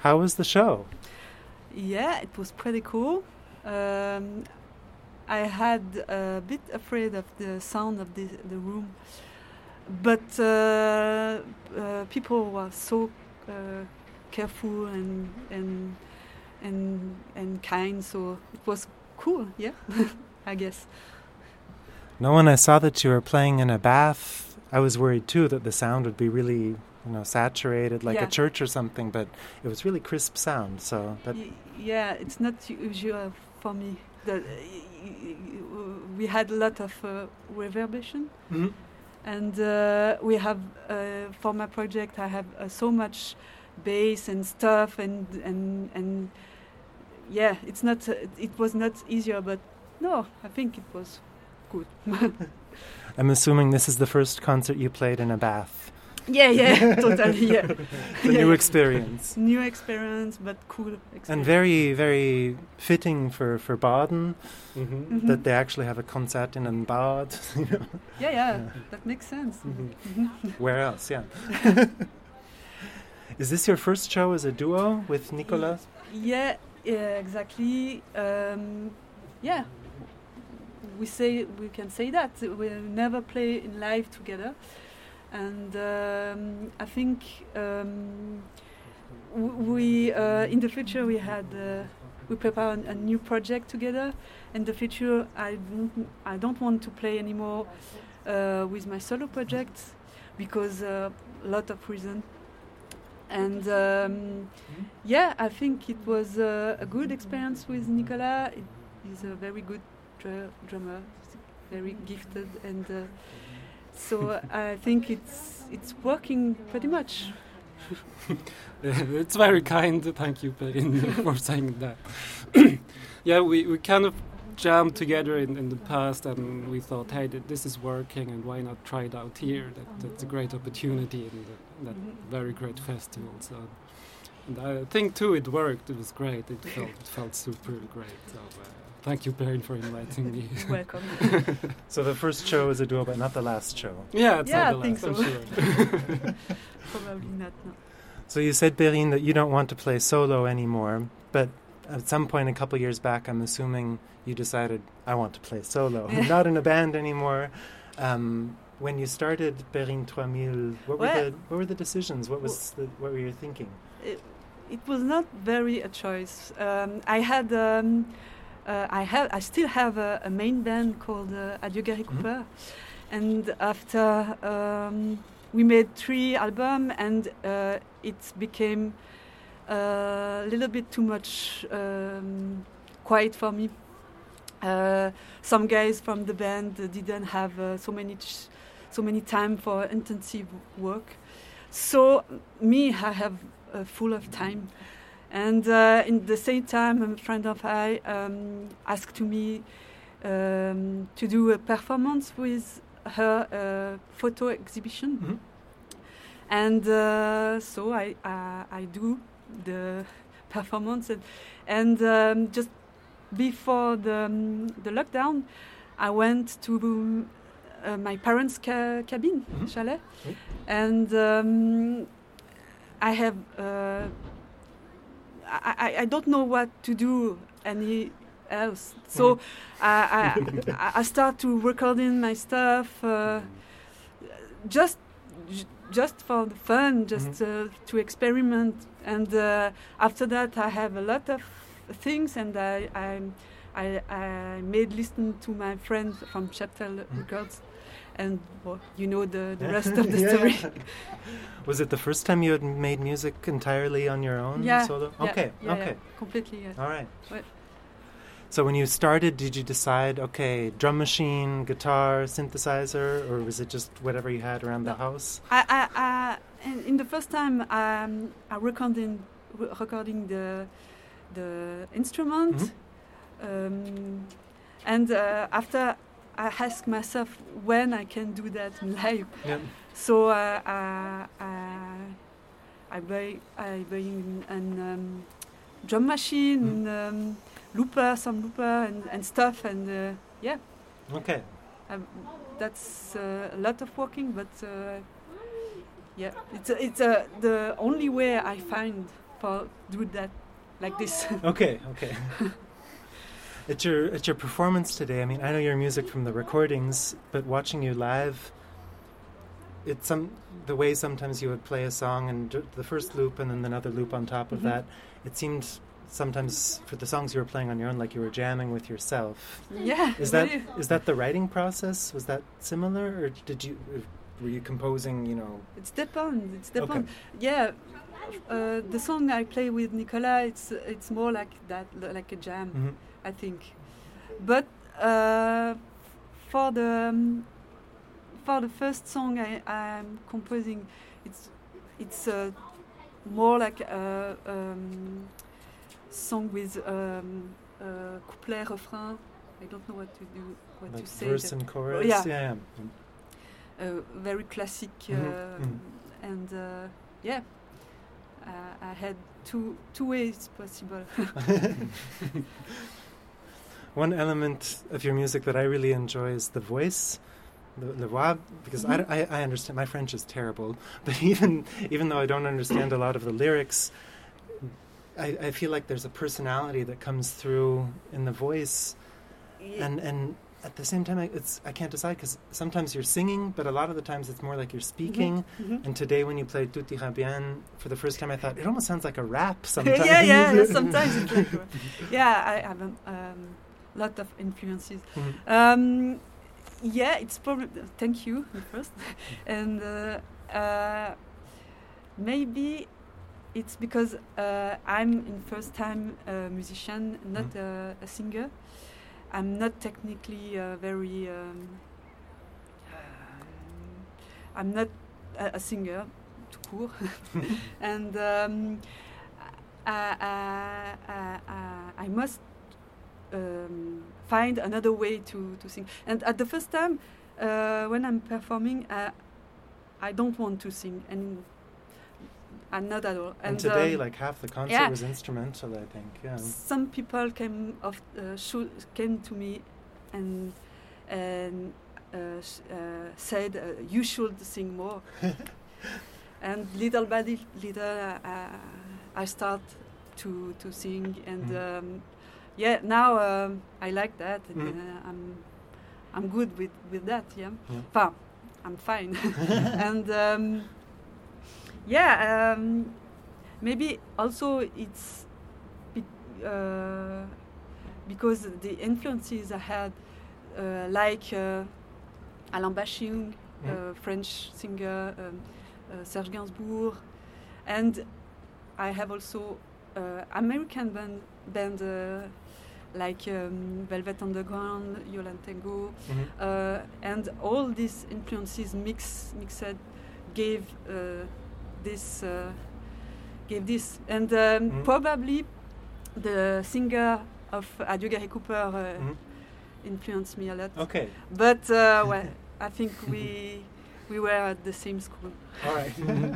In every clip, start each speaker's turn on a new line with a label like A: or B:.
A: How was the show?
B: Yeah, it was pretty cool. I had a bit afraid of the sound of the room, but people were so careful and kind, so it was cool. Yeah, I guess.
A: Now, when I saw that you were playing in a bath, I was worried too that the sound would be really, saturated like a church or something. But it was really crisp sound. So that
B: yeah, it's not usual for me. We had a lot of reverberation, and we have for my project I have so much bass and stuff, and yeah, it was not easier, but no, I think it was good.
A: I'm assuming this is the first concert you played in a bath.
B: Yeah, totally, yeah.
A: New experience.
B: New experience, but cool experience.
A: And very, very fitting for Baden, that they actually have a concert in Bad.
B: Yeah, that makes sense.
A: Where else, yeah. Is this your first show as a duo with Nicolas?
B: Yeah, exactly. Yeah, we can say that. We'll never play in live together. And I think we in the future we prepare a new project together. In the future, I don't want to play anymore with my solo projects because a lot of reasons. And yeah, I think it was a good experience with Nicolas. He's a very good drummer, very gifted, and so I think it's working pretty much.
C: It's very kind. Thank you, Perrine, for saying that. Yeah, we kind of jammed together in the past, and we thought, hey, this is working, and why not try it out here? That's a great opportunity in that very great festival. So, and I think too, it worked. It was great. It felt super great. So, thank you, Perrine, for inviting me.
B: Welcome.
A: So the first show is a duo, but not the last show.
C: Yeah, it's not the
B: I think
C: last,
B: so.
C: I'm sure.
B: Probably not. No.
A: So you said, Perrine, that you don't want to play solo anymore, but at some point a couple years back, I'm assuming you decided, I want to play solo. I'm not in a band anymore. When you started Perrine 3000, what were the decisions? What were you thinking?
B: It was not very a choice. I still have a main band called Adieu Gary Cooper, and after we made 3 albums, and it became a little bit too much quiet for me. Some guys from the band didn't have so many time for intensive work, so I have full of time. And in the same time, a friend of mine asked me to do a performance with her photo exhibition, and so I do the performance, and just before the lockdown, I went to my parents' cabin, chalet, and I have. I don't know what to do any else, so I start to recording my stuff just for the fun, just to experiment. And after that, I have a lot of things, and I made listen to my friend from Chapter Records, and you know the rest of the story.
A: Was it the first time you had made music entirely on your own? Solo? Okay.
B: Completely, yeah.
A: All right.
B: What?
A: So when you started, did you decide, okay, drum machine, guitar, synthesizer, or was it just whatever you had around the house?
B: In the first time, I recording the instrument, and after I asked myself when I can do that in live.
A: Yeah.
B: So I buy a drum machine, some looper and stuff, and yeah.
A: Okay.
B: That's a lot of working, but yeah, it's the only way I find for do that like this.
A: Okay. At your performance today, I mean, I know your music from the recordings, but watching you live, it's the way sometimes you would play a song and the first loop and then another loop on top of that. It seemed sometimes for the songs you were playing on your own, like you were jamming with yourself.
B: Yeah.
A: Is that the writing process? Was that similar, or were you composing?
B: It depends.
A: Okay.
B: Yeah. The song I play with Nicolas, it's more like that, like a jam, I think. But for the first song I'm composing, it's more like a song with couplet, refrain. I don't know what to do, what
A: like
B: to say.
A: Verse and chorus.
B: Yeah. Very classic, and I had two ways possible.
A: One element of your music that I really enjoy is the voice, the voix, because I understand. My French is terrible, but even though I don't understand a lot of the lyrics, I feel like there's a personality that comes through in the voice, and at the same time I can't decide, because sometimes you're singing, but a lot of the times it's more like you're speaking. And today when you played Tout ira bien for the first time, I thought it almost sounds like a rap sometimes.
B: yeah, sometimes it's like I have a lot of influences. It's probably thank you first, and maybe it's because I'm in first time a musician, not a singer. I'm not technically very. I'm not a singer, tout court, and I must find another way to sing. And at the first time, when I'm performing, I don't want to sing, and I'm not at all.
A: And today, like half the concert was instrumental, I think. Yeah.
B: Some people came to me and said you should sing more. And little by little, I start to sing, and now I like that. I'm good with that. I'm fine, and. Maybe also it's because the influences I had, like Alain Bashung, French singer, Serge Gainsbourg, and I have also American band like Velvet Underground, Yolande Tango, and all these influences mixed gave this, and probably the singer of Adieu Gary Cooper influenced me a lot.
A: Okay.
B: But I think we were at the same school.
A: All right.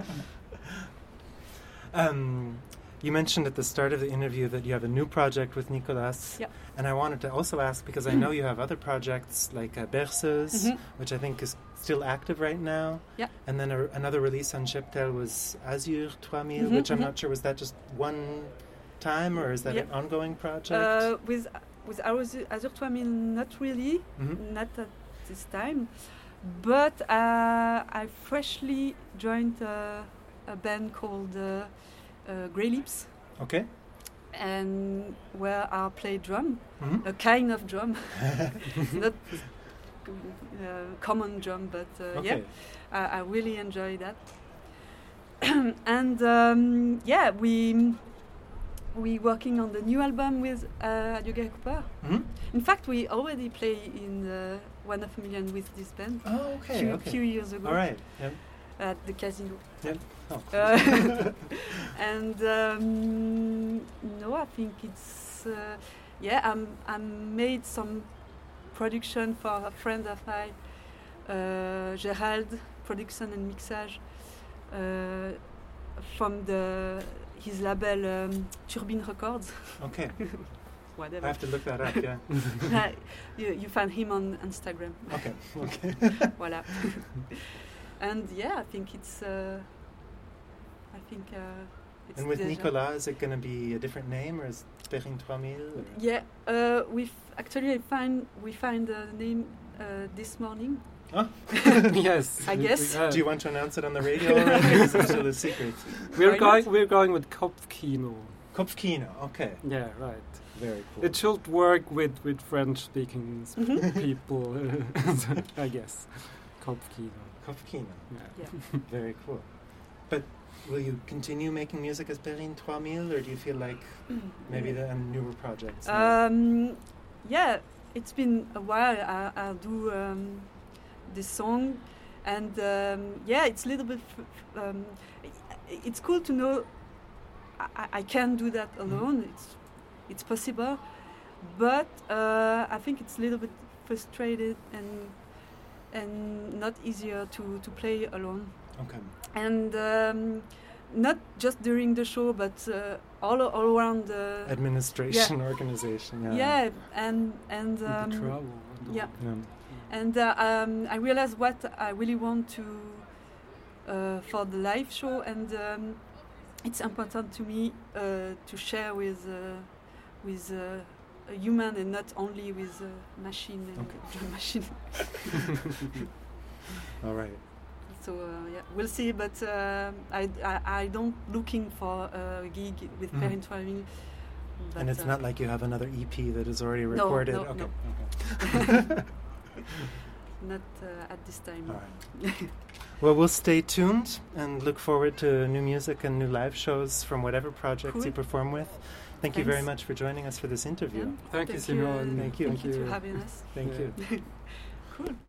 A: You mentioned at the start of the interview that you have a new project with Nicolas.
B: Yeah.
A: And I wanted to also ask, because I know you have other projects like Berceuse, which I think is still active right now.
B: Yeah.
A: And then another release on Cheptel was Azur 3000, which I'm not sure, was that just one time, or is that an ongoing project?
B: With Azur 3000, not really, not at this time. But I freshly joined a band called Grey Lips.
A: Okay.
B: And where I play drum, a kind of drum, not common drum, but I really enjoy that. And we working on the new album with Adieu Gary Cooper. In fact, we already play in 1 Million with this band.
A: Oh, okay.
B: A few years ago.
A: All right. Yep.
B: At the casino.
A: Yep. Oh.
B: And no, I think it's I made some production for a friend of mine, Gérald, production and mixage from his label Turbine Records.
A: Okay.
B: Whatever.
A: I have to look that up. Yeah.
B: You find him on Instagram.
A: Okay.
B: Voilà. And I think it's. It's
A: And with
B: déjà.
A: Nicolas, is it going to be a different name, or is Perrine 3000? Or?
B: Yeah, we find the name this morning.
A: Oh.
C: Yes,
B: I guess.
A: Do you want to announce it on the radio already, or is it still a secret?
C: We're
B: Why not?
C: going with Kopfkino.
A: Kopfkino, okay.
C: Yeah, right.
A: Very cool.
C: It should work with French-speaking
B: Mhm.
C: people, I guess. Kopfkino.
A: Kopfkino,
C: Yeah.
B: Yeah.
A: very cool. But will you continue making music as Perrine 3000, or do you feel like maybe a newer projects?
B: Yeah, it's been a while. I'll do this song, and yeah, it's a little bit. It's cool to know I can do that alone. It's possible, but I think it's a little bit frustrated and not easier to play alone.
A: Okay.
B: And not just during the show, but all around the
A: Administration, organization, yeah.
B: yeah, and
C: With the travel. And
B: yeah.
C: all.
A: Yeah.
B: and I realized what I really want to for the live show, and it's important to me to share with a human and not only with a machine and drum machine.
A: All right.
B: So yeah, we'll see. But I don't looking for a gig with Perrine 3000.
A: And it's not like you have another EP that is already
B: No,
A: recorded?
B: no,
A: okay.
B: no.
A: Okay.
B: Not at this time.
A: All right. Well, we'll stay tuned and look forward to new music and new live shows from whatever projects
B: Cool.
A: you perform with. Thank you very
B: Thanks.
A: much for joining us for this interview.
B: Yeah.
C: Thank you, Simone.
A: Thank you.
B: Thank you for having us.
A: Thank
C: Yeah.
A: you.
B: Cool.